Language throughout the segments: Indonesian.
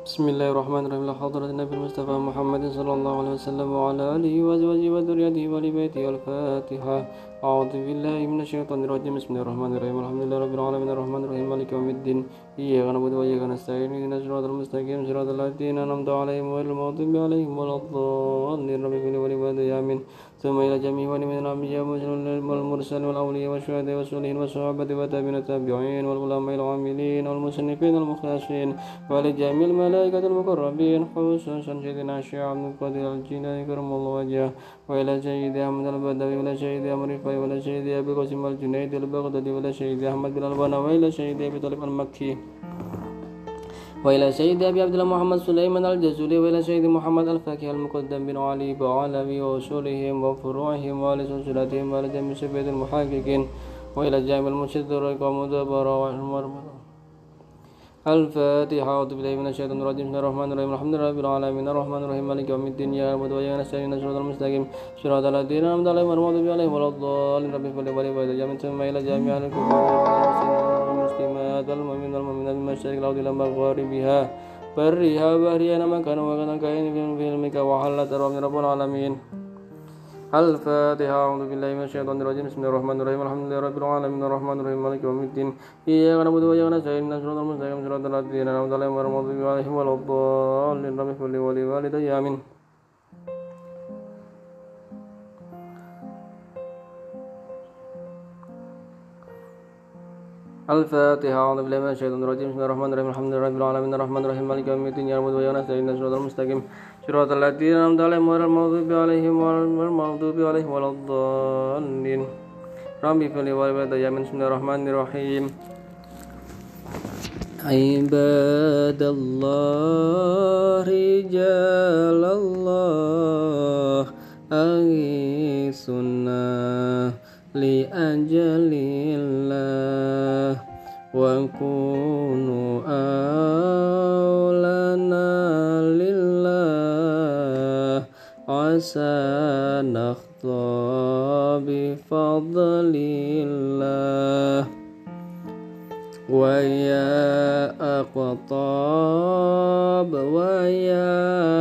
Bismillahirrahmanirrahim. La hadratin Nabi Mustafa Muhammadin sallallahu alaihi wasallam wa ala alihi wa azwajihi wa dhurriyyatihi wa li baitihi. Al-Fatiha. A'udzu billahi minasyaitonir rajim. Bismillahirrahmanirrahim. Alhamdulillahi rabbil alamin arrahmanir rahim maliki yaumiddin. Iyyaka na'budu wa iyyaka nasta'in. Ihdinas siratal mustaqim siratal ladzina an'amta 'alaihim ghairil maghdubi 'alaihim waladdallin. Rabbi ighfir li wa li walidayya amin. ثم إلى جميع من الأنبياء والمرسلين والأولياء والشهداء والصالحين والصحابة والتابعين التابعين والعلماء العاملين والمصنفين المخلصين ولجميع الملائكة المقربين خصوصا سيدنا الشيخ عبد القادر الجيلاني كرم الله وجهه وإلى سيدي أحمد البدوي وإلى سيدي أمر الرفاعي وإلى سيدي أبي قاسم الجنيد البغدادي وإلى سيدي أحمد بن البنا وإلى سيدي أبي طالب المكي وإلى سيد أبي عبد الله محمد سليمان الجزولي وإلى سيد محمد الفاكه المقدم بن علي بعلوي وأصولهم وفروعهم وآل سلسلتهم وإلى جميع سبيل المحققين وإلى جامع المشدر ومدبر الفاتحة. أعوذ بالله من الشيطان الرجيم. بسم الله الرحمن الرحيم. الحمد لله رب العالمين الرحمن الرحيم مالك يوم الدين إياك نعبد وإياك نستعين اهدنا الصراط المستقيم صراط الذين أنعمت عليهم غير المغضوب عليهم ولا الضالين. رب اغفر لي ولوالدي ثم إلى جميع المسلمات والمؤمنين والمؤمنات من مشارق الأرض إلى مغاربها برها وبحرها أينما كانوا وكان كائن في علمك وحلت رب العالمين. الفاتحة. أعوذ بالله من الشيطان الرجيم. بسم الله الرحمن الرحيم. الحمد لله رب العالمين الرحمن الرحيم مالك يوم الدين إياك نعبد وإياك نستعين اهدنا الصراط المستقيم صراط الذين أنعمت عليهم غير المغضوب عليهم ولا الضالين. رب اغفر لي ولوالدي آمين. الفاتحة. أعوذ بالله من الشيطان الرجيم. بسم الله الرحمن الرحيم. الحمد لله رب العالمين الرحمن الرحيم مالك يوم الدين إياك نعبد وإياك نستعين اهدنا الصراط المستقيم صراط الذين أنعمت عليهم غير المغضوب عليهم ولا الضالين. رب اغفر لي ولوالدي آمين. بسم الله الرحمن الرحيم. عباد الله رجال الله أغيثنا لأجل الله وكونوا أولانا لله عسى نخطى بفضل الله ويا أقطاب ويا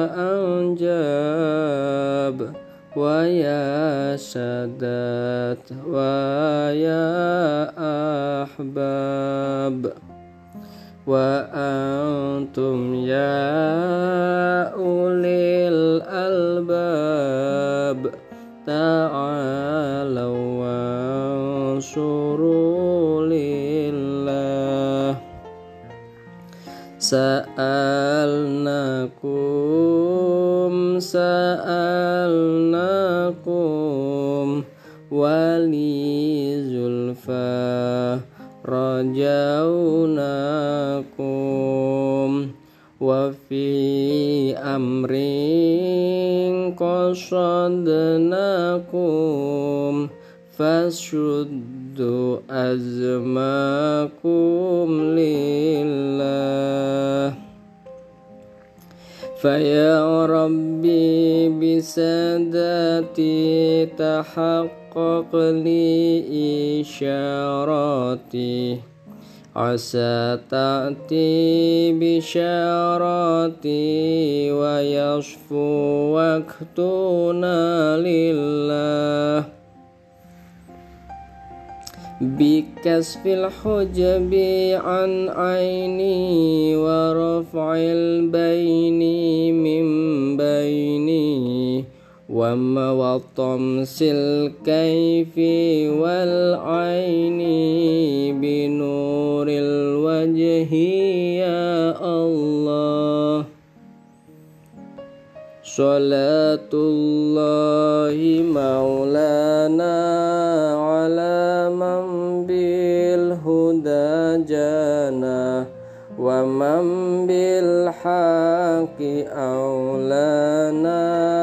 أنجاب ويا سادات ويا أحباب وأنتم يا أولي الألباب تعالوا وانصروا لله سألناكم ولي زلفى رجوناكم وفي أمر قصدناكم فاشدوا أزماكم لله فيا ربي بسادتي تحقق لي إشاراتي عسى تأتي بشاراتي ويصفو وقتنا لله بكسف الحجب عن عيني ورفع البين من بيني وطمس الكيف والعين بنور الوجه يا الله صلاة الله مولانا على من بالهدى جانا ومن بالحق أولانا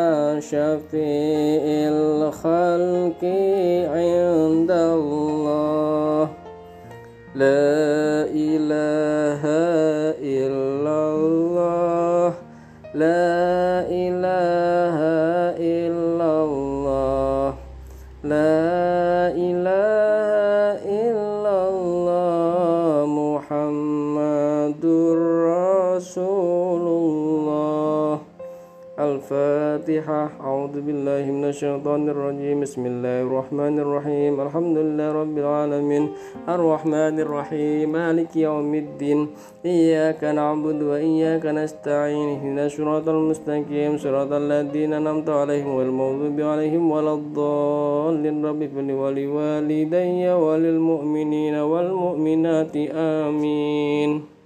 شفيع الخلق عند الله لا إله إلا الله لا إله إلا الله لا إله إلا الله محمد رسول الفاتحة. أعوذ بالله من الشيطان الرجيم. بسم الله الرحمن الرحيم. الحمد لله رب العالمين الرحمن الرحيم مالك يوم الدين إياك نعبد وإياك نستعين اهدنا الصراط المستقيم صراط الذين أنعمت عليهم غير المغضوب عليهم ولا الضالين. رب اغفر لي ولوالدي وللمؤمنين والمؤمنات آمين.